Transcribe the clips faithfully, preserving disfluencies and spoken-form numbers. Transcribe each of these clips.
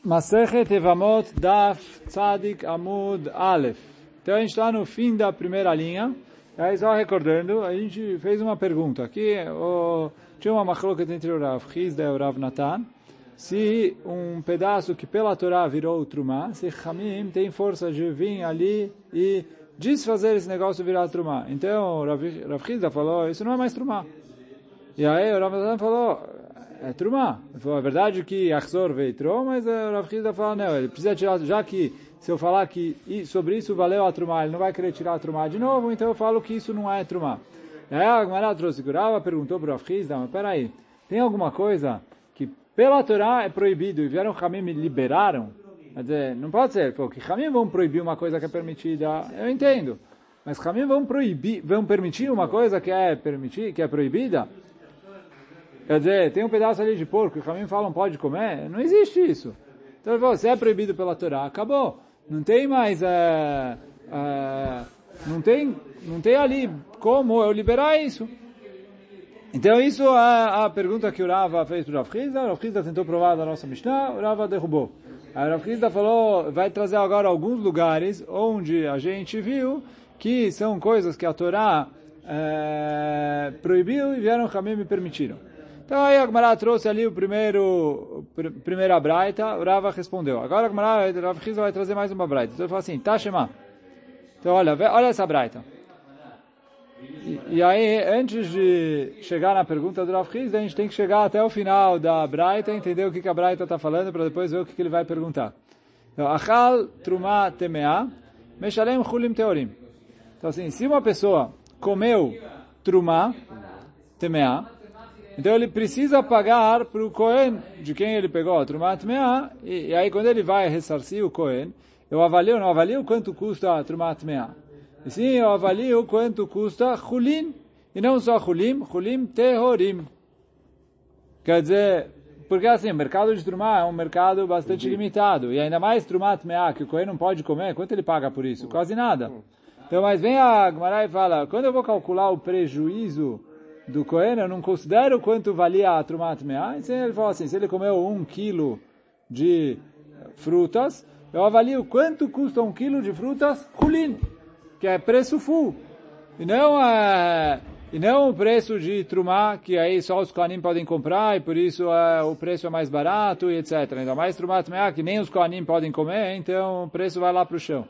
Masechet Evamot Daf Tzadik Amud Aleph. Então a gente está no fim da primeira linha. Aí só recordando, a gente fez uma pergunta. Aqui o, tinha uma machloket entre o Rav Hizda e o Rav Natan. Se um pedaço que pela Torá virou Trumá, se Hamim tem força de vir ali e desfazer esse negócio virar Trumá. Então o Rav, Rav Hizda falou, isso não é mais Trumá. E aí o Rav Natan falou, é Trumá. Ele falou, é verdade que Achzor veio Trom, mas o Rav Hizda falou, não, ele precisa tirar, já que se eu falar que sobre isso valeu a Trumá, ele não vai querer tirar a Trumá de novo, então eu falo que isso não é Trumá. E aí a Gemara trouxe Gurava, perguntou para o Rav Hizda, mas peraí, tem alguma coisa que pela Torá é proibido e vieram Hamim e liberaram? Quer dizer, não pode ser, porque Hamim vão proibir uma coisa que é permitida, eu entendo, mas Hamim vão proibir, vão permitir uma coisa que é permitir, que é proibida? Quer dizer, tem um pedaço ali de porco, e Hamim falam pode comer, não existe isso. Então ele falou, se é proibido pela Torá, acabou. Não tem mais, é, é, não tem, não tem ali como eu liberar isso. Então isso é a pergunta que o Rava fez para o Rav Hizda. O Rav Hizda tentou provar da nossa Mishnah, o Rava derrubou. Aí o Rav Hizda falou, vai trazer agora alguns lugares onde a gente viu que são coisas que a Torá é, proibiu e vieram Hamim e permitiram. Então aí a Gemara trouxe ali o primeiro, pr primeira braita, o Rava respondeu. Agora a Gemara, o Rav Hizda vai trazer mais uma braita. Então ele fala assim, tá, Shema. Então olha, olha essa braita. E, e aí, antes de chegar na pergunta do Rav Hizda, a gente tem que chegar até o final da braita, entender o que, que a braita está falando, para depois ver o que, que ele vai perguntar. Então, Achal Trumá Temea, Meshalem Chulim Teorim. Então assim, se uma pessoa comeu Trumá Temea, então ele precisa pagar para o Kohen, de quem ele pegou a Trumá Tmeá, e, e aí quando ele vai ressarcir o Kohen, eu avalio, não avalio quanto custa a Trumá Tmeá. E sim, eu avalio quanto custa Chulin, e não só Chulim, Chulim Tehorim. Quer dizer, porque assim, o mercado de Trumá é um mercado bastante limitado, e ainda mais Trumá Tmeá, que o Kohen não pode comer, quanto ele paga por isso? Quase nada. Então, mas vem a Gemara e fala, quando eu vou calcular o prejuízo do Kohen, eu não considero quanto valia a Trumá Tmeá. Então ele falou assim, se ele comeu um quilo de frutas, eu avalio quanto custa um quilo de frutas Chulin, que é preço full. E não, é, e não o preço de Trumá, que aí só os Kohanim podem comprar, e por isso é, o preço é mais barato, e etcétera. Ainda mais Trumá Tmeá, que nem os Kohanim podem comer, então o preço vai lá para o chão.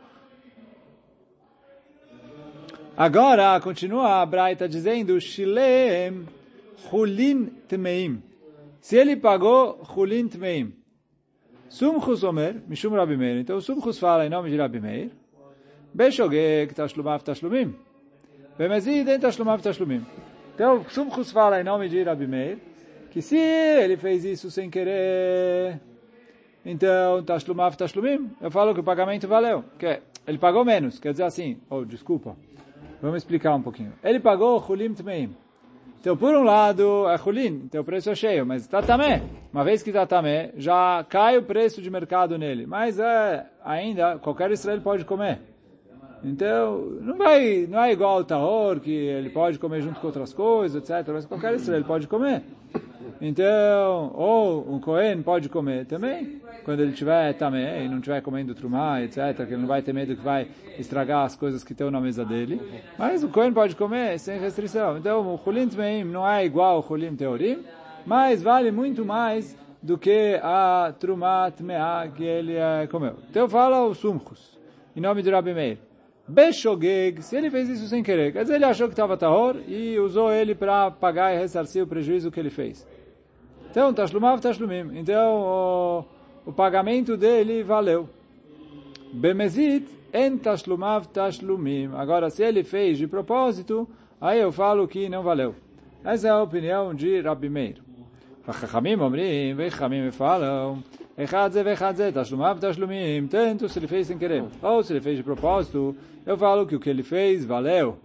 Agora, continua a Braita dizendo, Shilem Chulin Tmeim. Se ele pagou Chulin Tmeim. Sumchus Omer, Mishum Rabi Meir. Então, Sumchus fala em nome de Rabi Meir. Beshogeg Tashlumav Tashlumim. Bemezid em Tashlumav Tashlumim. Então, Sumchus fala em nome de Rabi Meir, que se ele fez isso sem querer, então, Tashlumav Tashlumim, eu falo que o pagamento valeu. Que ele pagou menos, quer dizer assim, oh, desculpa. Vamos explicar um pouquinho. Ele pagou Chulim Tmeim. Então, por um lado, é Chulin, então o preço é cheio, mas Tatamé. Uma vez que Tatamé, já cai o preço de mercado nele. Mas é, ainda, qualquer Israel pode comer. Então, não vai, não é igual ao Tahor, que ele pode comer junto com outras coisas, etcétera. Mas qualquer Israel pode comer. Então, ou um Kohen pode comer também, quando ele tiver tamé e não estiver comendo trumá, etcétera, que ele não vai ter medo que vai estragar as coisas que estão na mesa dele. Mas o Kohen pode comer sem restrição. Então, o Chulim Tmeim não é igual ao Chulim Teorim, mas vale muito mais do que a trumá tmeá que ele uh, comeu. Então, fala o Sumchus, em nome de Rabi Meir. Beshogeg, se ele fez isso sem querer, quer dizer, ele achou que estava tahor e usou ele para pagar e ressarcir o prejuízo que ele fez. Então, Tashlumav Tashlumim. Então, o, o pagamento dele valeu. Bemezit en Tashlumav Tashlumim. Agora, se ele fez de propósito, aí eu falo que não valeu. Essa é a opinião de Rabi Meir. Vachachamim omrim, vechachamim falam, echadze vechadze Tashlumav Tashlumim. Tanto se ele fez sem querer, ou se ele fez de propósito, eu falo que o que ele fez valeu.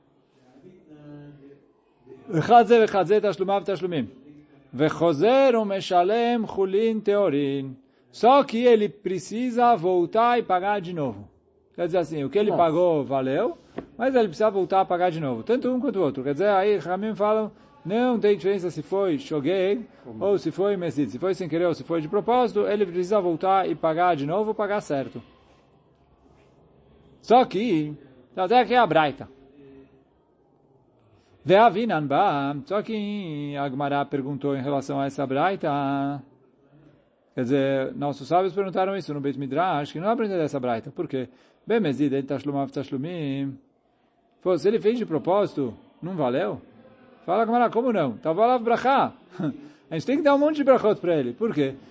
Echadze vechadze Tashlumav Tashlumim. Vechozer o meshalem chulin teorin. Só que ele precisa voltar e pagar de novo. Quer dizer assim, o que ele pagou valeu, mas ele precisa voltar a pagar de novo. Tanto um quanto o outro. Quer dizer, aí Ramim falam não tem diferença se foi shogeg ou se foi mesid. Se foi sem querer ou se foi de propósito, ele precisa voltar e pagar de novo ou pagar certo. Só que, até aqui é a braita. Ve'avinan ba, só que a Gemara perguntou em relação a essa braita. Quer dizer, nossos sábios perguntaram isso no Beit Midrash, que não aprendeu dessa braita. Por quê? Bem, mesid, ele tashlumav tashlumim. Se ele fez de propósito, não valeu? Fala, Gemara, como não? Tava lá brachá. A gente tem que dar um monte de brachot para ele. Por quê?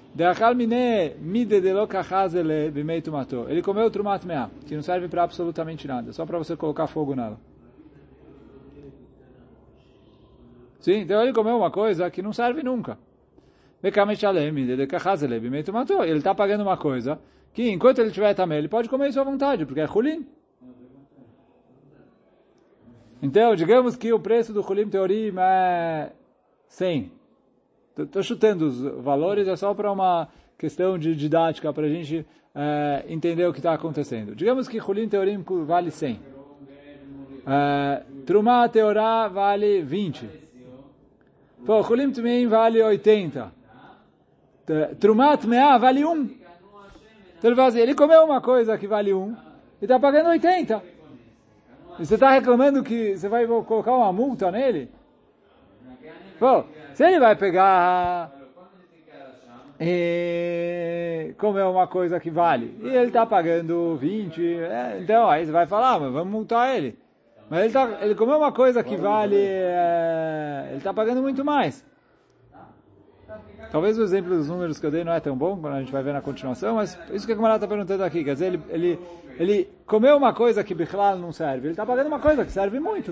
Ele comeu trumat meah, que não serve para absolutamente nada, só para você colocar fogo nela. Sim, então ele comeu uma coisa que não serve nunca. Ele está pagando uma coisa que, enquanto ele tiver também, ele pode comer isso à vontade, porque é chulin. Então, digamos que o preço do chulim teorim é cem. Estou chutando os valores, é só para uma questão de didática, para a gente é, entender o que está acontecendo. Digamos que chulim teorim vale cem. É, Trumá teorá vale vinte. Pô, chulim temeim vale oitenta. Trumat meá vale um. Então ele fala assim, ele comeu uma coisa que vale um e está pagando oitenta. E você está reclamando que você vai colocar uma multa nele? Pô, se ele vai pegar e comer uma coisa que vale, e ele está pagando vinte, é, então aí você vai falar, mas vamos multar ele. Mas ele, tá, ele comeu uma coisa que vale, é, ele está pagando muito mais. Talvez o exemplo dos números que eu dei não é tão bom, quando a gente vai ver na continuação, mas isso que a Gemara está perguntando aqui, quer dizer, ele, ele, ele comeu uma coisa que Bichlal não serve, ele está pagando uma coisa que serve muito.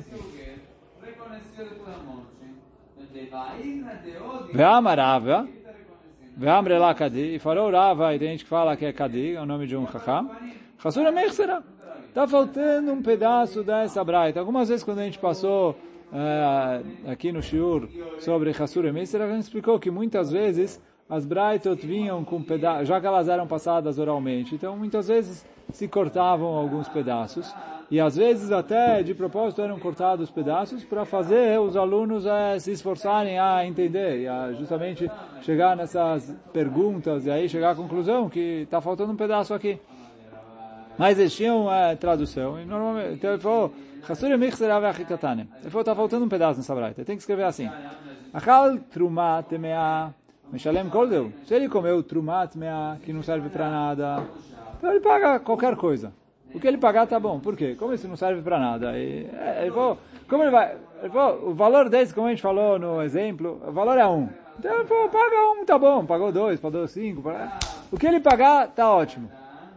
Ve'ama Rava, ve'amre lá Kadi, e falou Rava, e tem gente que fala que é Kadi, é o nome de um chacham, Chassura Mechsera. Está faltando um pedaço dessa braita. Algumas vezes quando a gente passou uh, aqui no Shiur sobre Chassura Mechsera, a gente explicou que muitas vezes as braitot vinham com pedaços, já que elas eram passadas oralmente, então muitas vezes se cortavam alguns pedaços, e às vezes até de propósito eram cortados pedaços para fazer os alunos eh, se esforçarem a entender, e a justamente chegar nessas perguntas, e aí chegar à conclusão que está faltando um pedaço aqui. Mas eles tinham eh, tradução, e normalmente, então ele falou, ele falou, está faltando um pedaço nessa braita, tem que escrever assim, Achal truma temea Meshalem koldeu. Se ele comeu trumat meah, que não serve para nada, então ele paga qualquer coisa. O que ele pagar tá bom. Por quê? Como isso não serve para nada? E, é, ele falou, como ele vai, ele falou, o valor desse, como a gente falou no exemplo, o valor é um. Então ele falou, paga um, tá bom. Pagou dois, pagou cinco. Paga... O que ele pagar tá ótimo.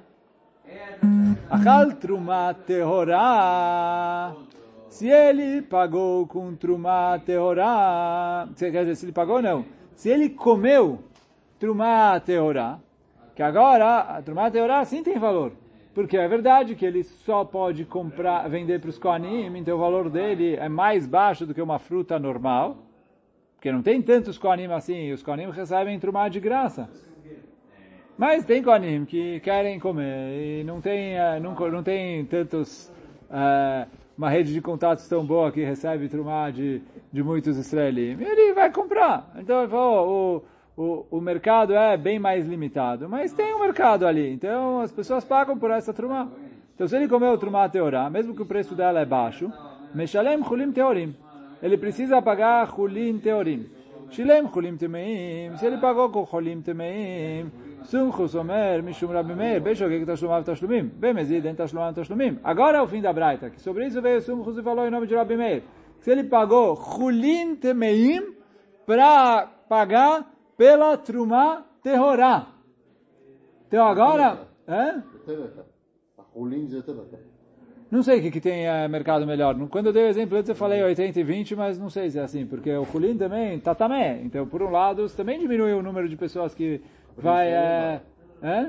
Achal trumat tehorá. Se ele pagou com trumat tehorá, quer dizer, se ele pagou não. Se ele comeu Trumá Teorá, que agora a Trumá Teorá sim tem valor, porque é verdade que ele só pode comprar, vender para os Kohanim, então o valor dele é mais baixo do que uma fruta normal, porque não tem tantos Kohanim assim, os Kohanim recebem Trumá de graça. Mas tem Kohanim que querem comer e não tem, não, não tem tantos... Uh, uma rede de contatos tão boa que recebe trumá de, de muitos israelim, ele vai comprar. Então ele falou, o, o, o mercado é bem mais limitado, mas tem um mercado ali, então as pessoas pagam por essa trumá. Então se ele comeu trumá teorá, mesmo que o preço dela é baixo, meshalem chulim teorim, ele precisa pagar chulim teorim. Shilem chulim temeim, se ele pagou com chulim temeim, Sumchus Omer, Mishum Rabbi Meir, Beshogeg Tashlumav Tashlumim, Bemezid em Tashlumav Tashlumim. Agora é o fim da braita, que sobre isso veio Sumchus e falou em nome de Rabbi Meir. Se ele pagou Chulin Temeim para pagar pela Trumá Tehorá. Então agora... É? Não sei o que, que tem é, mercado melhor. Quando eu dei o exemplo antes eu falei oitenta e vinte, mas não sei se é assim, porque o Chulin também tá tamé. Então, por um lado, você também diminui o número de pessoas que vai... É, é?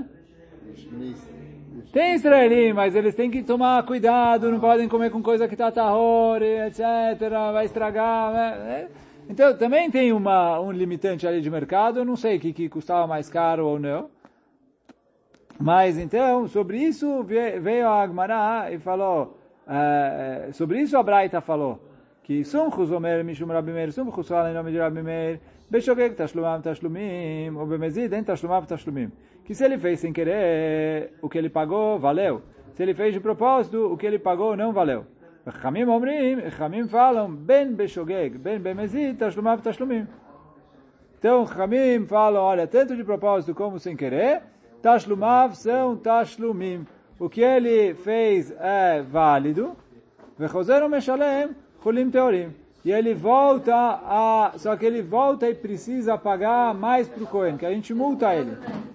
Tem israelim, mas eles têm que tomar cuidado, não podem comer com coisa que está tahor, etcétera, vai estragar. Né? Então, também tem uma, um limitante ali de mercado, eu não sei o que, que custava mais caro ou não. Mas então, sobre isso veio a Agmará e falou, uh, sobre isso a Braita falou, que que Sumchus omer mishum Rabi Meir, Sumchus fala em nome de Rabi Meir, Beshogeg tashlumav tashlumim, ou bemezid en tashlumav tashlumim. Que se ele fez sem querer, o que ele pagou, valeu. Se ele fez de propósito, o que ele pagou não valeu. Chamim omrim, Chamim falam, ben beshogeg, ben bemezid, tashlumav tashlumim. Então, Chamim falam, olha, tanto de propósito como sem querer, tashlumav são tashlumim. O que ele fez é válido, vechozeru meshalem, chulim teorim. E ele volta a... Só que ele volta e precisa pagar mais para o Cohen, que a gente multa ele.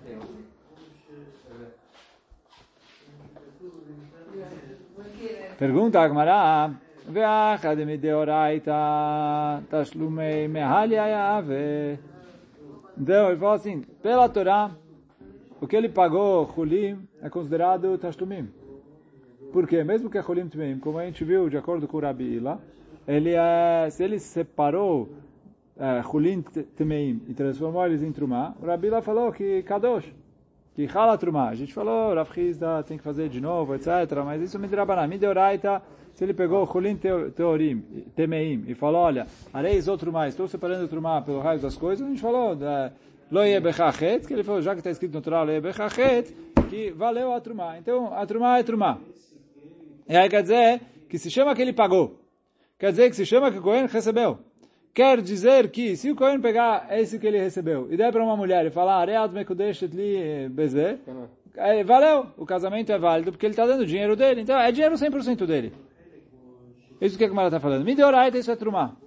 Pergunta a Gemara, ve'achad mideoraita tashlumei mehali ayave. Então, ele fala assim, pela Torá, o que ele pagou, chulim, é considerado tashlumim. Por quê? Mesmo que é chulim tmeim, como a gente viu, de acordo com o Rabi Ila, ele é, se ele separou chulim é, tmeim e transformou eles em trumá, o Rabi Ila falou que kadosh, que chala trumá. A gente falou, Rav Chizda tem que fazer de novo, etcétera. Mas isso me derabaná, me deoraita. Se ele pegou chulim teorim, temeim e falou, olha, areis outro mais, estou separando o trumá pelo raio das coisas, a gente falou, lo ye bechachet, que ele falou, já que está escrito no Torá, lo ye bechachet, que valeu a trumá. Então, a trumá é trumá. E aí quer dizer que se chama que ele pagou. Quer dizer que se chama que o Cohen recebeu. Quer dizer que se o Cohen pegar esse que ele recebeu e der para uma mulher e falar, areat mekudeshet li bezeh, valeu, o casamento é válido porque ele está dando dinheiro dele. Então, é dinheiro cem por cento dele. Isso que a Gemara está falando. Mideoraita, isso é trumá.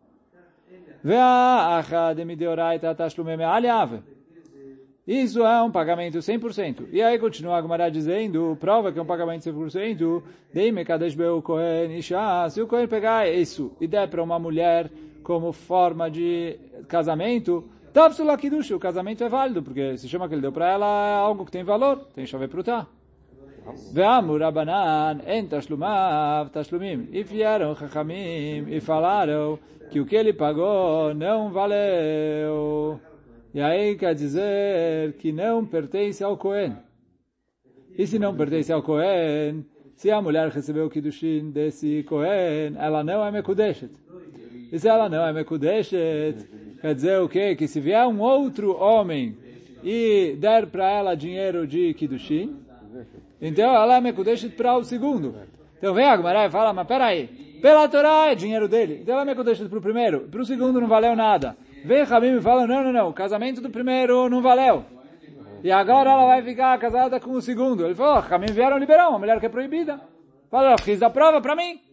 Ve'acha de mideoraita tashlumei me'al yave. Isso é um pagamento cem por cento. E aí continua a Gemara dizendo, prova que é um pagamento cem por cento, deime kadesh beu Cohen isha. Se o Cohen pegar isso e der para uma mulher como forma de casamento, tavsula kiddush, o casamento é válido, porque se chama que ele deu para ela é algo que tem valor, tem chave prutá. Ve'amur Rabanan en tashlumav tashlumim. E vieram Chachamim e falaram que o que ele pagou não valeu. E aí quer dizer que não pertence ao Cohen. E se não pertence ao Cohen, se a mulher recebeu o kiddushin desse Cohen, ela não é mekudeshet. E se ela não é mekudeshet, quer dizer o quê? Que se vier um outro homem e der para ela dinheiro de kiddushin, então ela é mekudeshet para o segundo. Então vem a Gemara e fala, mas peraí, pela Torá é dinheiro dele. Então ela é mekudeshet para o primeiro, para o segundo não valeu nada. Vem Rabim e fala, não, não, não, o casamento do primeiro não valeu. E agora ela vai ficar casada com o segundo. Ele falou, Rabim vieram liberar uma mulher que é proibida. Fala, fiz da prova para mim.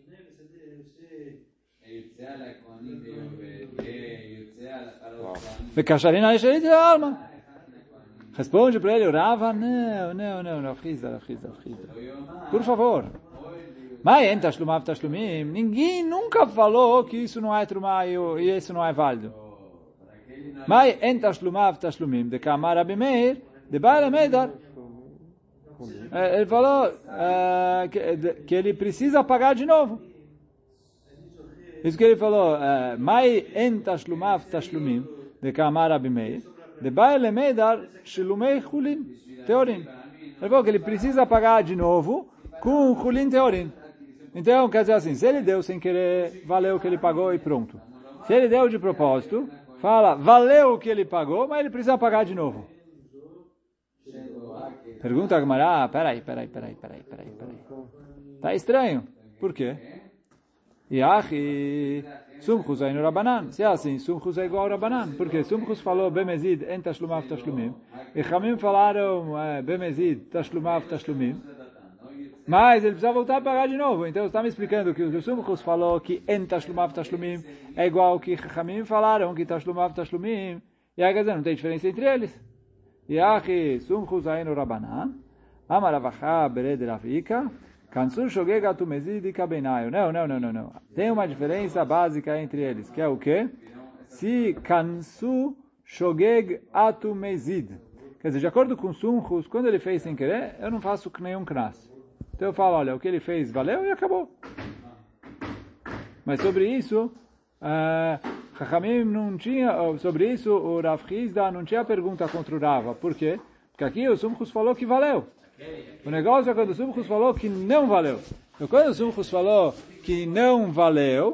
Vekasharina Esherit de alma. Responde para ele, o Rava, não, não, não, não, Rafrizda, Rafrizda, Rafrizda. Por favor. Mas em Tashlumav Tashlumim, ninguém nunca falou que isso não é trumá e isso não é válido. Mas em Tashlumav Tashlumim, de Kamar Rabi Meir, de Baal Medar, ele falou uh, que, que ele precisa pagar de novo. Isso que ele falou, Mai en Tashlumav Tashlumim, de Kamar Rabi Meir, de Baal Medar, Shilumei Chulin, Teorim. Ele falou que ele precisa pagar de novo com Chulin Teorim. Então, quer dizer assim, se ele deu sem querer, valeu o que ele pagou e pronto. Se ele deu de propósito, fala, valeu o que ele pagou, mas ele precisa pagar de novo. Pergunta a Gemara, ah, peraí, peraí, peraí, peraí, peraí, peraí. Tá estranho. Por quê? Yachi, Sumchus aí no Rabanan. Se é assim, Sumchus é igual ao Rabanan. Porque Sumchus falou Bemezid en Tashlumav Tashlumim. E Chamim falaram Bemezid Tashlumav Tashlumim. Mas ele precisa voltar a pagar de novo. Então você está me explicando que o Sumchus falou que en Tashlumav Tashlumim é igual ao que Chamim falaram que Tashlumav Tashlumim. E aí quer dizer, não tem diferença entre eles. Yachi, Sumchus aí no Rabanan. Amaravacha bered Ravika. Kansur shogega tu mezid e kabenayo. Não, não, não, não, não. Tem uma diferença básica entre eles, que é o quê? Se kansu shogeg atu mezid. Quer dizer, de acordo com Sumchus, quando ele fez sem querer, eu não faço nenhum knas. Então eu falo, olha, o que ele fez valeu e acabou. Mas sobre isso, Chachamim uh, não tinha, sobre isso o Rav Chizda não tinha pergunta contra o Rava. Por quê? Porque aqui o Sumchus falou que valeu. O negócio é quando o Sumchus falou que não valeu. Então, quando o Sumchus falou que não valeu,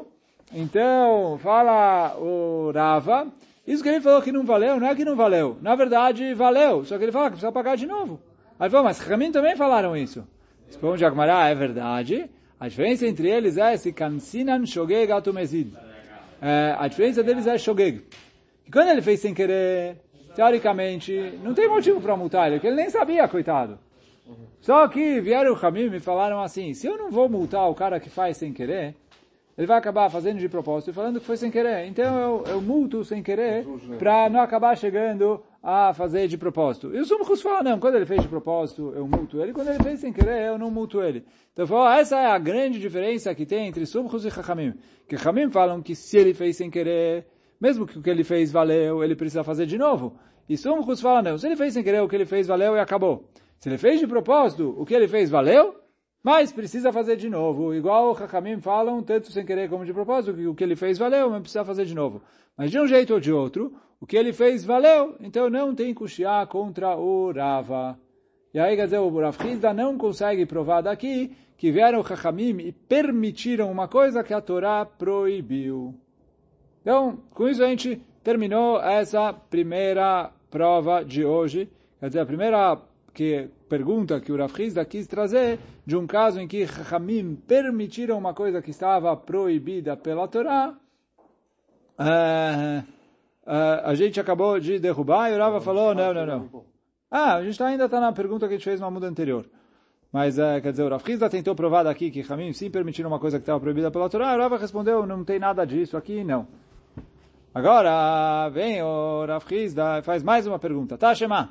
Então, fala o Rava, isso que ele falou que não valeu, não é que não valeu. Na verdade, valeu, só que ele fala que precisa pagar de novo. Aí ele falou, mas Chachamim também falaram isso. Responde Agmará, é verdade. A diferença entre eles é se kansinan shogeg atumezid. É, a diferença deles é shogeg. E quando ele fez sem querer, teoricamente, não tem motivo para multar ele, porque ele nem sabia, coitado. Só que vieram o Chachamim e falaram assim, se eu não vou multar o cara que faz sem querer, ele vai acabar fazendo de propósito e falando que foi sem querer. Então eu, eu multo sem querer para não acabar chegando a fazer de propósito. E o Sumchus fala, não, quando ele fez de propósito eu multo ele, quando ele fez sem querer eu não multo ele. Então falou, essa é a grande diferença que tem entre Sumchus e Chachamim. Que Chachamim falam que se ele fez sem querer, mesmo que o que ele fez valeu, ele precisa fazer de novo. E Sumchus fala, não, se ele fez sem querer, o que ele fez valeu e acabou. Se ele fez de propósito, o que ele fez valeu, mas precisa fazer de novo. Igual o Chachamim falam, tanto sem querer como de propósito, que o que ele fez valeu, mas precisa fazer de novo. Mas de um jeito ou de outro, o que ele fez valeu, então não tem kushia contra o Rava. E aí, quer dizer, o Rav Hizda não consegue provar daqui que vieram o Chachamim e permitiram uma coisa que a Torá proibiu. Então, com isso a gente terminou essa primeira prova de hoje. Quer dizer, a primeira que pergunta que o Rav Hizda quis trazer de um caso em que Chachamim permitiram uma coisa que estava proibida pela Torá, uh, uh, a gente acabou de derrubar e o Rava falou, não, não, não. Ah, a gente ainda está na pergunta que a gente fez no muda anterior. Mas, uh, quer dizer, o Rav Hizda tentou provar daqui que Chachamim sim permitiram uma coisa que estava proibida pela Torá, e o Rava respondeu, não tem nada disso aqui, não. Agora, vem o Rav Hizda e faz mais uma pergunta. Tá, Shema?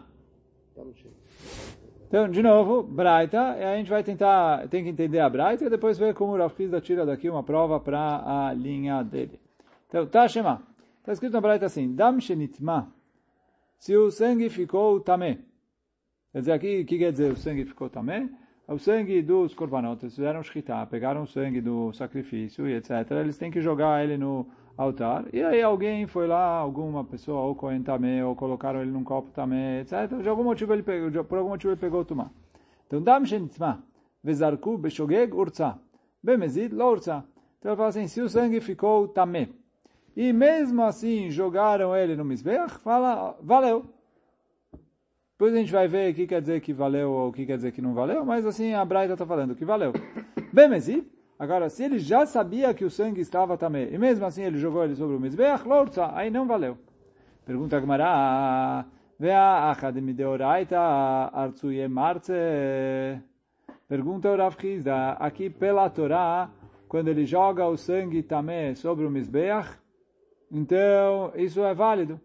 Então, de novo, Braita, e a gente vai tentar, tem que entender a Braita e depois ver como o Rav Hizda tira daqui uma prova para a linha dele. Então, tá, Shema. Está escrito na Braita assim, Dam shenitma, se o sangue ficou tamé. Quer dizer, aqui, o que quer dizer o sangue ficou tamé? O sangue dos korbanot, eles fizeram shchita, pegaram o sangue do sacrifício e etcétera. Eles têm que jogar ele no altar, e aí alguém foi lá, alguma pessoa, ou Cohen tamé, ou colocaram ele num copo tamé, etcétera. De algum motivo ele pegou, por algum motivo ele pegou o tumá. Então, dam shenitma, vezarku beshogeg urza, bemezid lo urza. Então ele fala assim, se o sangue ficou tamé, e mesmo assim jogaram ele no mizbeach, fala, valeu. Depois a gente vai ver o que quer dizer que valeu ou o que quer dizer que não valeu, mas assim a Braita está falando que valeu. Bemezid, agora, se ele já sabia que o sangue estava também, e mesmo assim ele jogou ele sobre o mizbeach, lorza, aí não valeu. Pergunta a Gemara, vea achad mideoraita artsuye marce. Pergunta o Rav Hizda, aqui pela Torá, quando ele joga o sangue também sobre o mizbeach, então isso é válido.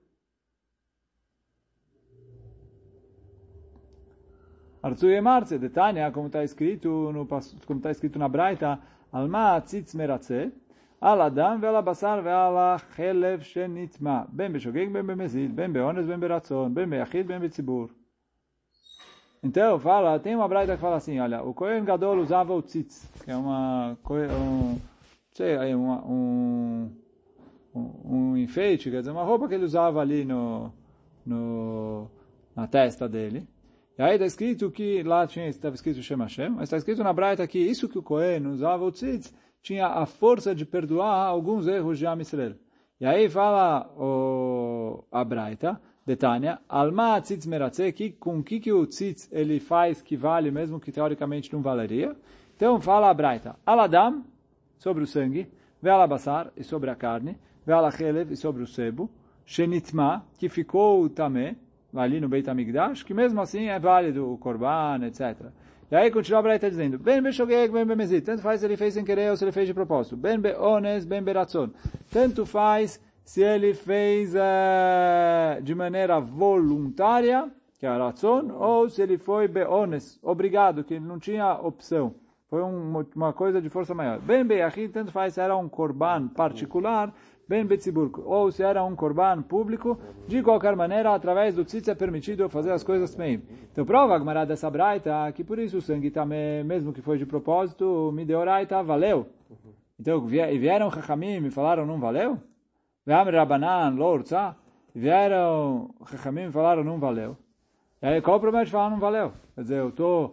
Artsuye marce, de Tânia, como está escrito no como está escrito na Braita, Alma tzitz meratze, al adam ve'al basar ve'al chelev shenitma, ben beshogeg, ben bemezid, ben beones, ben beratzon, ben beyachid, ben betzibur. Então, fala, tem uma Braita que fala assim, olha, o Kohen Gadol usava o tzitz, que é uma, um, sei, uma, um, um, um enfeite, quer dizer, uma roupa que ele usava ali no, no, na testa dele. E aí está escrito que, lá tinha, estava escrito Shem Hashem, mas está escrito na Braita que isso que o Kohen usava o tzitz tinha a força de perdoar alguns erros de Am Yisrael. E aí fala o, a Braita, de Tânia, Alma tzitz meratze, que com o que, que o tzitz ele faz que vale mesmo que teoricamente não valeria. Então fala a Braita, Aladam, sobre o sangue, Ve'al basar, e sobre a carne, Ve'al chelev, e sobre o sebo, Shenitma, que ficou tamé, ali no Beit HaMikdash, que mesmo assim é válido o korban, etcétera. E aí continua a Braita dizendo, ben beshogeg, ben bemezid, tanto faz se ele fez sem querer ou se ele fez de propósito. Ben beones, ben beratzon, tanto faz se ele fez uh, de maneira voluntária, que é a ratzon, ou se ele foi beones, obrigado, que não tinha opção. Foi um, uma coisa de força maior. Ben beyachid, tanto faz se era um korban particular, ben betzibur, ou se era um korban público, de qualquer maneira, através do tzitz é permitido fazer as coisas também. Então prova a Gemara dessa Braita, que por isso o sangue também, mesmo que foi de propósito, me deu Raita, valeu. Então vieram Chachamim e falaram, não valeu? Ve'am Rabanan, lorza, vieram Chachamim e falaram, não valeu. E aí qual o problema de falar não valeu? Quer dizer, eu estou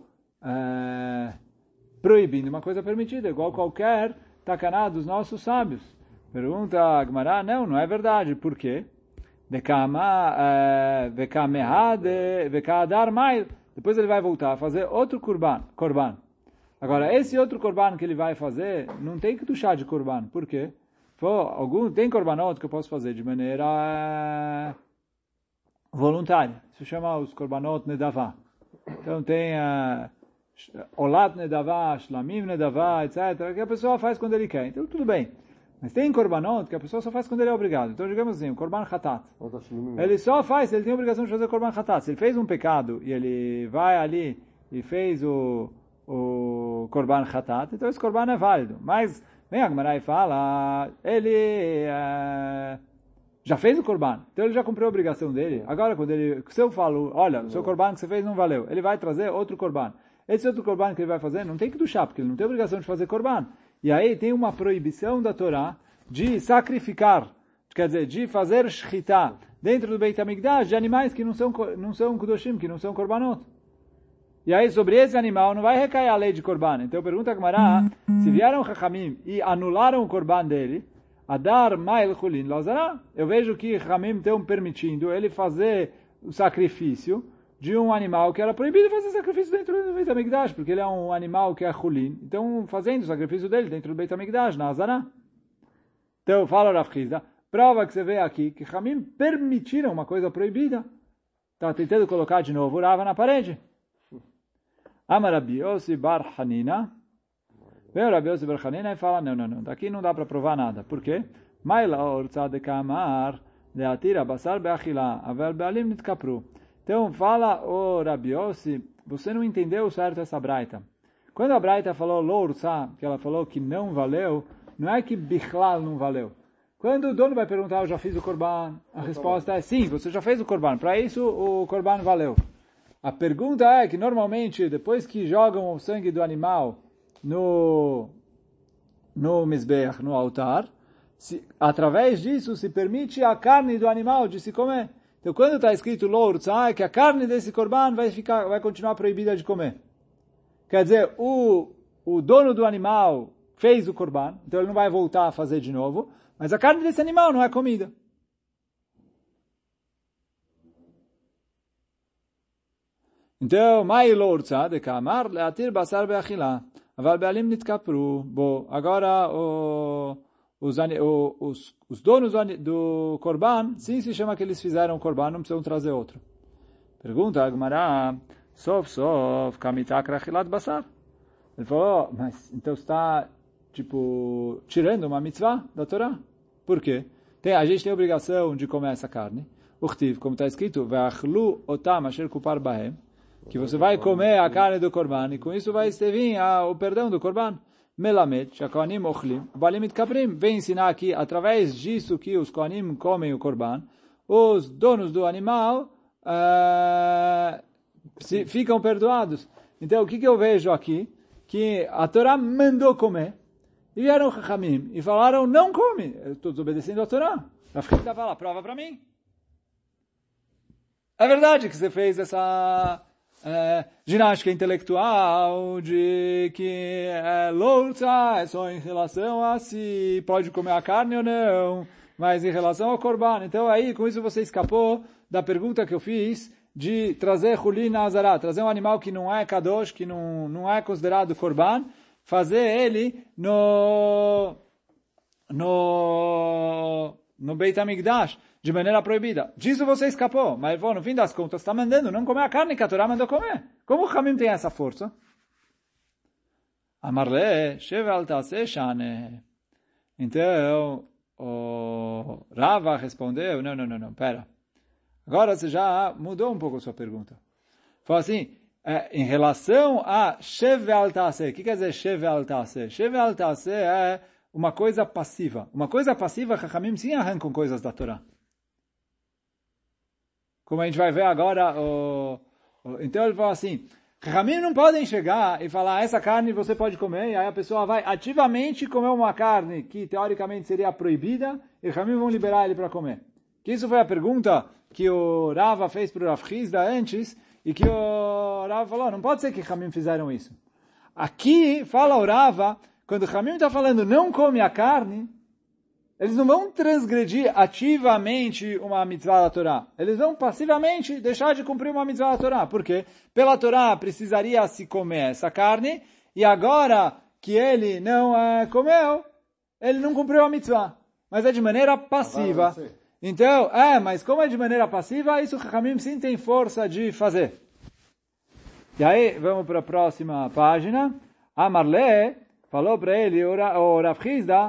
é, proibindo uma coisa permitida, igual qualquer tacaná dos nossos sábios. Pergunta a Gemara, não, não é verdade. Por quê? Depois ele vai voltar a fazer outro korban. korban. Agora, esse outro korban que ele vai fazer, não tem que tuchar de korban. Por quê? Pô, algum, tem korbanot que eu posso fazer de maneira voluntária. Isso chama os korbanot nedavá. Então tem uh, olat nedavá, shlamim nedavá, etcétera, que a pessoa faz quando ele quer. Então tudo bem. Mas tem korbanot que a pessoa só faz quando ele é obrigado. Então digamos assim, o korban khatat. Ele só faz, ele tem a obrigação de fazer o korban khatat. Se ele fez um pecado e ele vai ali e fez o, o korban khatat, então esse korban é válido. Mas vem a Gemara e fala, ele uh, já fez o korban, então ele já cumpriu a obrigação dele. Agora, quando ele, se eu falo, olha, o seu korban que você fez não valeu, ele vai trazer outro korban. Esse outro korban que ele vai fazer não tem que duchar, porque ele não tem obrigação de fazer korban. E aí tem uma proibição da Torá de sacrificar, quer dizer, de fazer shchita dentro do Beit HaMikdash de animais que não são, não são kudoshim, que não são korbanot. E aí, sobre esse animal, não vai recair a lei de korban. Então, pergunta a Gemara, se vieram Chachamim e anularam o korban dele, Adar Mail Chulin Lazará, eu vejo que Chachamim estão permitindo ele fazer o sacrifício de um animal que era proibido fazer sacrifício dentro do Beit HaMikdash, porque ele é um animal que é Chulin. Então, fazendo o sacrifício dele dentro do Beit HaMikdash, na Azará. Então, fala Rav Chizda, prova que você vê aqui que Chachamim permitiram uma coisa proibida. Está tentando colocar de novo o Rava na parede. Amar Rabi Yossi bar Hanina. Vem o Rabi Yossi bar Hanina e fala, não, não, não, daqui não dá para provar nada. Por quê? Maila orza de kamar leatira basar beachila avel bealim nitkapru. Então fala o Rabi Yossi, você não entendeu certo essa braita. Quando a braita falou lo orza, que ela falou que não valeu, não é que bichlal não valeu. Quando o dono vai perguntar, eu já fiz o korban, a resposta é sim, você já fez o korban. Para isso o korban valeu. A pergunta é que, normalmente, depois que jogam o sangue do animal no, no mizbeach, no altar, se, através disso se permite a carne do animal de se comer. Então, quando está escrito lo urtzah, é que a carne desse korban vai, ficar, vai continuar proibida de comer. Quer dizer, o, o dono do animal fez o korban, então ele não vai voltar a fazer de novo, mas a carne desse animal não é comida. Então, mai lo urtzah de kamar leatir basar beachila, aval bealim nitkapru. Bom, agora o, os, os, os donos do, do korban, sim se chama que eles fizeram o korban, não precisam trazer outro. Pergunta a Gemara, sof sof kamitak rachilat basar. Ele falou, mas então está tipo tirando uma mitzvah da Torá. Por quê? Tem, a gente tem a obrigação de comer essa carne. Uchtiv, como está escrito, ve'achlu otam asher kupar bahem, que você vai comer a carne do korban, e com isso vai vir o perdão do korban. Melamed, shakoanim ochlim, balim itkaprim, vem ensinar aqui, através disso que os koanim comem o korban, os donos do animal uh, se, ficam perdoados. Então, o que, que eu vejo aqui? Que a Torá mandou comer, e vieram Chachamim, e falaram, não come. Eu estou desobedecendo a Torá. A Fita fala, prova para mim. É verdade que você fez essa... É, ginástica intelectual de que é louça, é só em relação a se pode comer a carne ou não, mas em relação ao korban. Então aí, com isso você escapou da pergunta que eu fiz de trazer Hulin na Azará, trazer um animal que não é kadosh, que não, não é considerado korban, fazer ele no no no Beit HaMikdash, de maneira proibida. Disso você escapou, mas no fim das contas está mandando não comer a carne que a Torá mandou comer. Como o Hamim tem essa força? Amarle, shevel taseh shane. Então, o Rava respondeu, não, não, não, não, pera. Agora você já mudou um pouco a sua pergunta. Falou assim, é, em relação a shevel taseh, o que quer dizer shevel taseh? Shevel taseh é uma coisa passiva. Uma coisa passiva, Chachamim sim arrancam coisas da Torá. Como a gente vai ver agora, o, o, então ele fala assim, Chachamim não podem chegar e falar, essa carne você pode comer, e aí a pessoa vai ativamente comer uma carne que teoricamente seria proibida, e Chachamim vão liberar ele para comer. Que isso foi a pergunta que o Rava fez para o Rav Chizda antes, e que o Rava falou, não pode ser que Chachamim fizeram isso. Aqui, fala o Rava, quando o Hamim está falando não come a carne, eles não vão transgredir ativamente uma mitzvah da Torá. Eles vão passivamente deixar de cumprir uma mitzvah da Torá. Por quê? Pela Torá precisaria se comer essa carne, e agora que ele não uh, comeu, ele não cumpriu a mitzvah. Mas é de maneira passiva. Então, é, mas como é de maneira passiva, isso o Chachamim sim tem força de fazer. E aí, vamos para a próxima página. Amarle falou para ele, o Rav Chizda,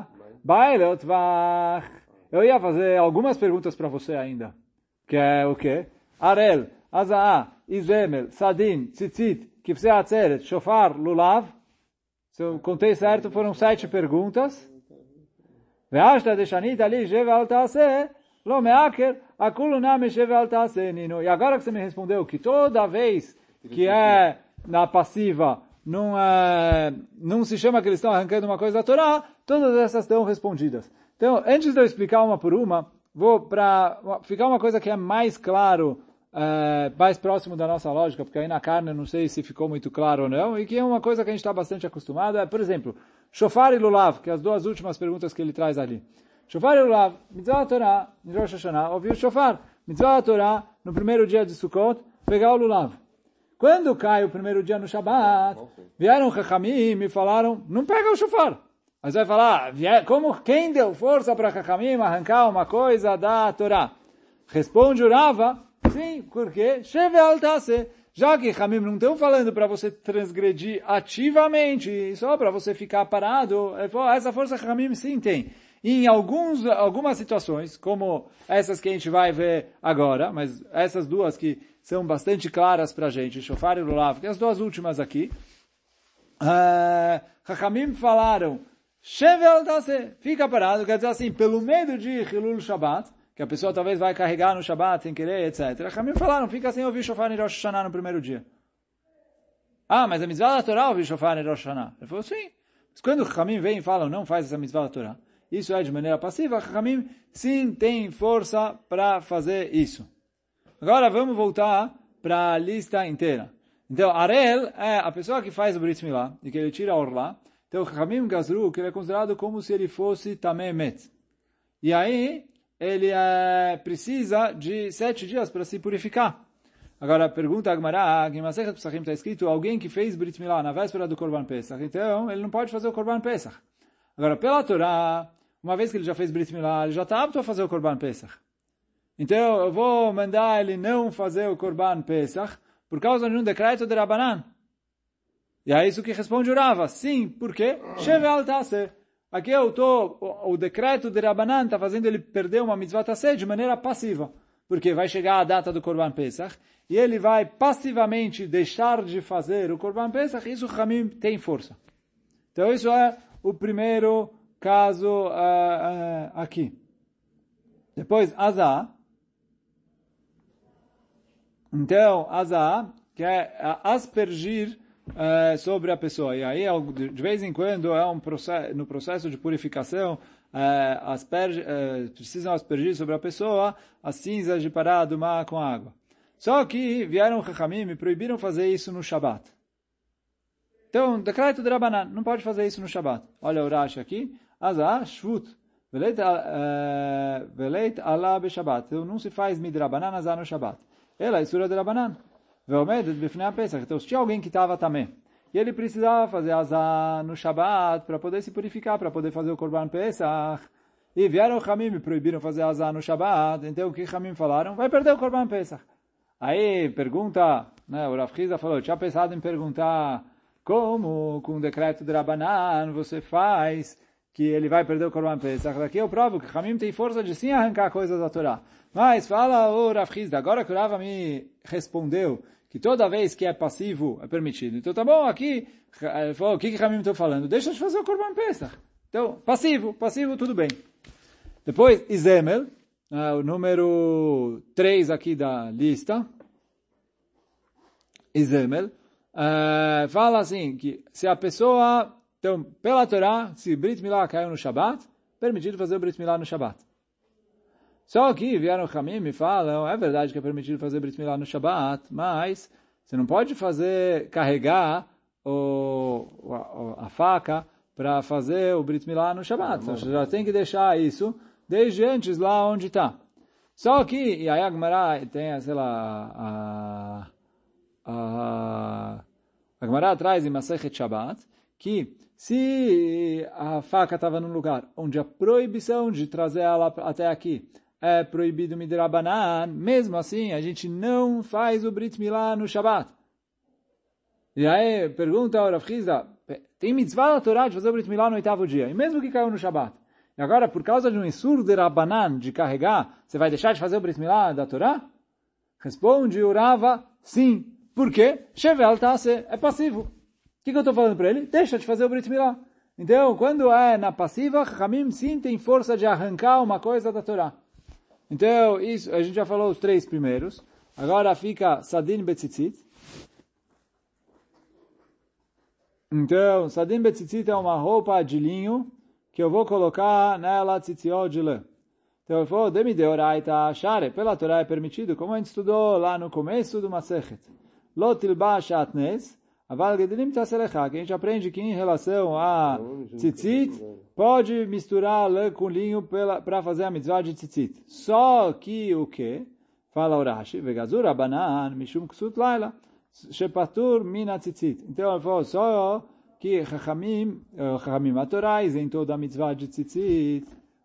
eu ia fazer algumas perguntas para você ainda. Que é o quê? Arel, Azaa, Izemel, Sadin, Tzitzit, Kifsei Atzeret, Shofar, Lulav. Se eu contei certo, foram sete perguntas. Ve'ashta deshanit ali, Sheve al Taaseh, Lo Meaker, Akulu Name Sheve al Taaseh, Nino. E agora que você me respondeu que toda vez que é na passiva, não, é, não se chama que eles estão arrancando uma coisa da Torá, todas essas estão respondidas. Então, antes de eu explicar uma por uma, vou para ficar uma coisa que é mais claro, é, mais próximo da nossa lógica, porque aí na carne eu não sei se ficou muito claro ou não, e que é uma coisa que a gente está bastante acostumado, é, por exemplo, Shofar e Lulav, que é as duas últimas perguntas que ele traz ali. Shofar e Lulav, mitzvah da Torá, em Rosh Hashanah, ouviu Shofar, mitzvah da Torá, no primeiro dia de Sukkot, pegar o Lulav. Quando cai o primeiro dia no Shabat, vieram Chachamim e falaram, não pega o shofar. Mas vai falar, como, quem deu força para Chachamim arrancar uma coisa da Torá? Responde o Rava, sim, porque Sheve al Taaseh. Já que Chachamim não estão falando para você transgredir ativamente, só para você ficar parado, essa força Chachamim sim tem. E em alguns, algumas situações, como essas que a gente vai ver agora, mas essas duas que são bastante claras para a gente, Shofar e Lulav, que as duas últimas aqui, uh, Chachamim falaram, Sheve al Taaseh, fica parado, quer dizer assim, pelo medo de Hilul Shabbat, que a pessoa talvez vai carregar no Shabbat sem querer, etcétera. Chachamim falaram, fica sem ouvir Shofar em Rosh Hashanah no primeiro dia. Ah, mas a mitzvah da Torá ouvir Shofar em Rosh Hashanah. Ele falou, sim. Mas quando Chachamim vem e falam, não faz essa mitzvah da Torá, isso é de maneira passiva, Chachamim sim tem força para fazer isso. Agora vamos voltar para a lista inteira. Então, Arel é a pessoa que faz o Brit Milá e que ele tira a orlá. Então, Chachamim Gazru, que ele é considerado como se ele fosse Tameh Met. E aí, ele é, precisa de sete dias para se purificar. Agora, pergunta a Gemara, que em Masechet Pesachim está escrito, alguém que fez Brit Milá na véspera do Korban Pesach, então ele não pode fazer o Korban Pesach. Agora, pela Torá, uma vez que ele já fez Brit Milá, ele já está apto a fazer o Korban Pesach. Então, eu vou mandar ele não fazer o Korban Pesach por causa de um decreto de Rabanan. E é isso que responde o Rava. Sim, por quê? Sheve al Taaseh. Aqui eu tô, o, o decreto de Rabanan está fazendo ele perder uma mitzvah Taaseh de maneira passiva. Porque vai chegar a data do Korban Pesach e ele vai passivamente deixar de fazer o Korban Pesach, e isso o Chachamim tem força. Então, isso é o primeiro caso uh, uh, aqui. Depois, Azah. Então, Azah, que é aspergir uh, sobre a pessoa. E aí, de vez em quando, é um processo, no processo de purificação, uh, asperge, uh, precisam aspergir sobre a pessoa as cinzas de pará do mar com água. Só que vieram Chachamim e proibiram fazer isso no Shabat. Então, decreto de Rabanan, não pode fazer isso no Shabat. Olha o Rashi aqui. Azah, Shvut. Veleit Allah be Shabat. Então, não se faz midrabanan azah no Shabat. Ela é sura de Rabanan. Veomedet bifnei Pesach. Então, se tinha alguém que estava também, e ele precisava fazer azah no Shabat para poder se purificar, para poder fazer o Korban Pesach, e vieram o Chamim e proibiram fazer azah no Shabat, então o que Chamim falaram? Vai perder o Korban Pesach. Aí, pergunta, né, o Rav Chizda falou, tinha pensado em perguntar como, com o decreto de Rabanan, você faz que ele vai perder o Korban Pesach. Daqui eu provo que Chamim tem força de sim arrancar coisas da Torá. Mas fala o Rav Chizda, agora que o Rava me respondeu que toda vez que é passivo é permitido. Então tá bom, aqui, ele falou, o que que Chamim está falando? Deixa de fazer o Korban Pesach. Então, passivo, passivo, tudo bem. Depois, Izemel, uh, o número três aqui da lista. Izemel, uh, fala assim, que se a pessoa, então, pela Torá, se Brit Milá caiu no Shabat, permitido fazer o Brit Milá no Shabat. Só que vieram Chamim e falam, é verdade que é permitido fazer Brit Milá no Shabat, mas você não pode fazer, carregar o, a, a faca para fazer o Brit Milá no Shabbat. Então, você já tem que deixar isso desde antes lá onde está. Só que, e aí a Gemara tem, sei lá, a, a, a Gemara traz em Masechet Shabbat, que se a faca estava num lugar onde a proibição de trazer ela até aqui é proibido midrabanan, mesmo assim a gente não faz o Brit Milá no Shabbat. E aí pergunta ao Rav Chizda, tem mitzvah da Torá de fazer o Brit Milá no oitavo dia, e mesmo que caiu no Shabbat. E agora, por causa de um isur de Rabanan, de carregar, você vai deixar de fazer o Brit Milá da Torá? Responde o Rava, sim. Por quê? Shevel Tase, é passivo. O que, que eu estou falando para ele? Deixa de fazer o Brit Milá. Então, quando é na passiva, Hamim sim tem força de arrancar uma coisa da Torá. Então, isso, a gente já falou os três primeiros. Agora fica Sadin Betzitzit. Então, Sadin Betzitzit é uma roupa de linho que eu vou colocar nela tzitziot de lã. Então ele falou, Demi deoraita share, pela Torá é permitido, como a gente estudou lá no começo do Masechet. Lo tilba shatnes, aval gedelim taselecha, que a gente aprende que em relação a tzitzit, pode misturar lã com linho para fazer a mitzvah de tzitzit. Só que o que? Fala o Rashi, vegazur abanan, mishum ksut laila, shepatur mina tzitzit. Então ele falou, só que Chachamim, Chachamim a Torá, isentou da mitzvah de tzitzit,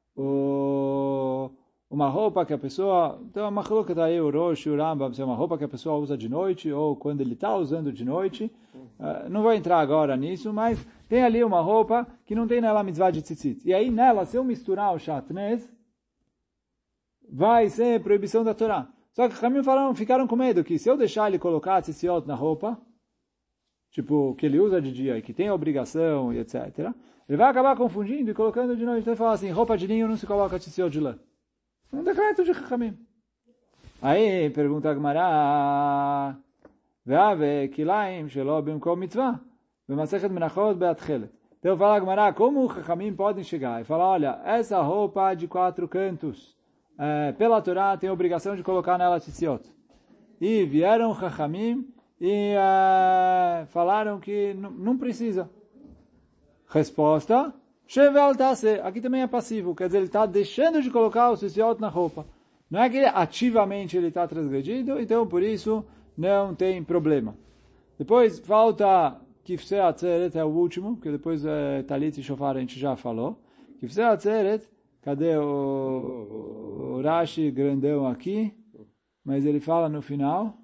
uma roupa que a pessoa, então a machloket aí, o Rosh, o Rambam, é uma roupa que a pessoa usa de noite, ou quando ele está usando de noite, uh, não vou entrar agora nisso, mas tem ali uma roupa que não tem nela mitzvah de tzitzit. E aí nela, se eu misturar o shatnez, vai ser proibição da Torá. Só que Chachamim falaram, ficaram com medo que se eu deixar ele colocar tzitziot na roupa, tipo, que ele usa de dia e que tem obrigação e etcétera, ele vai acabar confundindo e colocando de noite. Então ele fala assim, roupa de linho não se coloca tzitzit de lã. Um decreto de Chachamim. Aí pergunta a Gemara, Ve'ave kilaim shelo bimkom mitzvah, B'masechet menachot be'atchelet. Então fala a Gemara, como os Chachamim podem chegar e falar, olha, essa roupa de quatro cantos, é, pela Torá tem obrigação de colocar nela tzitzit. E vieram Chachamim e uh, falaram que não precisa. Resposta, Shevel Tase, aqui também é passivo, quer dizer, ele está deixando de colocar o tzitzit na roupa. Não é que ele, ativamente ele está transgredindo, então por isso não tem problema. Depois falta Kifsei Atzeret, é o último, que depois é, Talit e Shofar a gente já falou. Kifsei Atzeret, cadê o, o Rashi grandão aqui? Mas ele fala no final.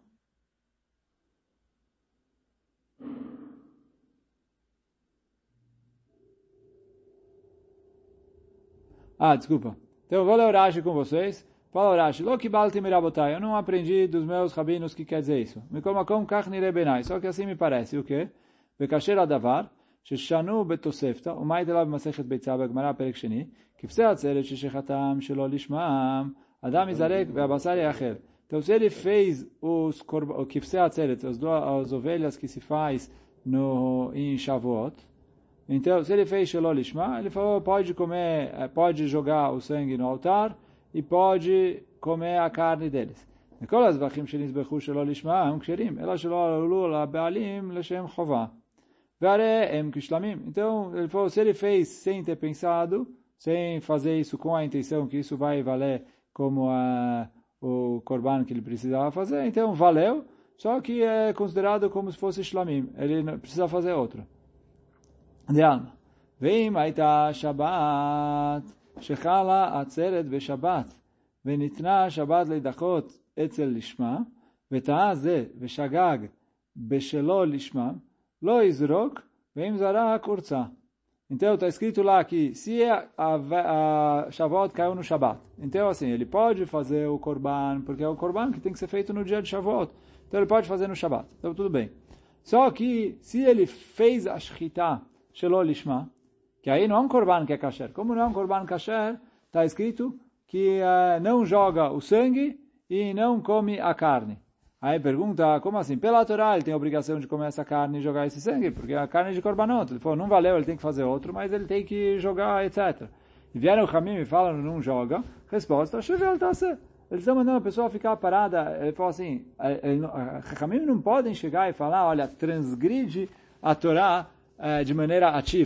Ah, desculpa. Então eu vou ler o Rashi com vocês. Fala o Rashi. Lo kibalti mirabotai. Eu não aprendi dos meus rabinos o que quer dizer isso. Me komakom kach nirei benai. Só que assim me parece. O quê? Bekasher adavar. Sheshanu betosefta. Umay telav masechet beitzah b'gmara perek sheni. Kifsei atzeret sheshechatam shelo lishmam. Adam izarek ve'abasar yachel. Então se ele fez os o kifsei atzeret, as, as ovelhas que se faz no, em Shavuot. Então, se ele fez Shelo Lishma, ele falou, pode comer, pode jogar o sangue no altar e pode comer a carne deles. Então, ele falou, se ele fez sem ter pensado, sem fazer isso com a intenção que isso vai valer como a, o korban que ele precisava fazer, então valeu, só que é considerado como se fosse shlamim, ele não precisa fazer outro. De alma. Veim aita Shabbat, shechala atzeret beShabbat, venitna Shabbat leidachot etzel lishma, veta'a ze veshagag beshelo lishma, lo izrok, veim zara kurza. Então está escrito lá que se a, a, a Shavuot caiu no Shabbat, então assim, ele pode fazer o korban, porque é o korban que tem que ser feito no dia de Shavuot, então ele pode fazer no Shabbat, então tudo bem. Só que se ele fez a shchita Shelo Lishma, que aí não é um korban que é kasher. Como não é um korban kasher, está escrito que uh, não joga o sangue e não come a carne. Aí pergunta, como assim? Pela Torá ele tem a obrigação de comer essa carne e jogar esse sangue, porque a carne é de korbanot. Ele falou, não valeu, ele tem que fazer outro, mas ele tem que jogar, etcétera. E vieram o Hamim e falam, não joga. Resposta, Shevel Tase. Eles estão mandando a pessoa ficar parada. Ele falou assim, os Hamim não podem chegar e falar, olha, transgride a Torá de maneira ativa.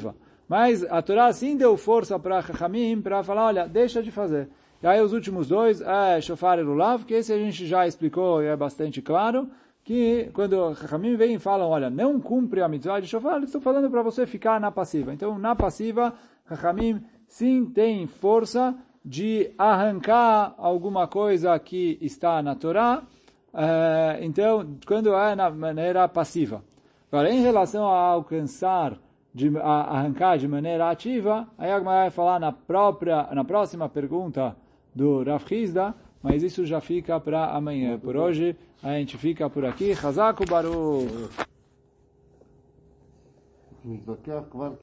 Mas a Torá sim deu força para Chachamim para falar, olha, deixa de fazer. E aí os últimos dois, é Shofar e Lulav, que esse a gente já explicou e é bastante claro, que quando Chachamim vem e falam, olha, não cumpre a mitzvah de Shofar, eles estão falando para você ficar na passiva. Então, na passiva, Chachamim sim tem força de arrancar alguma coisa que está na Torá, é, então, quando é na maneira passiva. Agora, em relação a alcançar, de, a arrancar de maneira ativa, aí a Gemara vai falar na, própria, na próxima pergunta do Rav Hizda, mas isso já fica para amanhã. Por hoje, a gente fica por aqui. Chazak u'Baruch.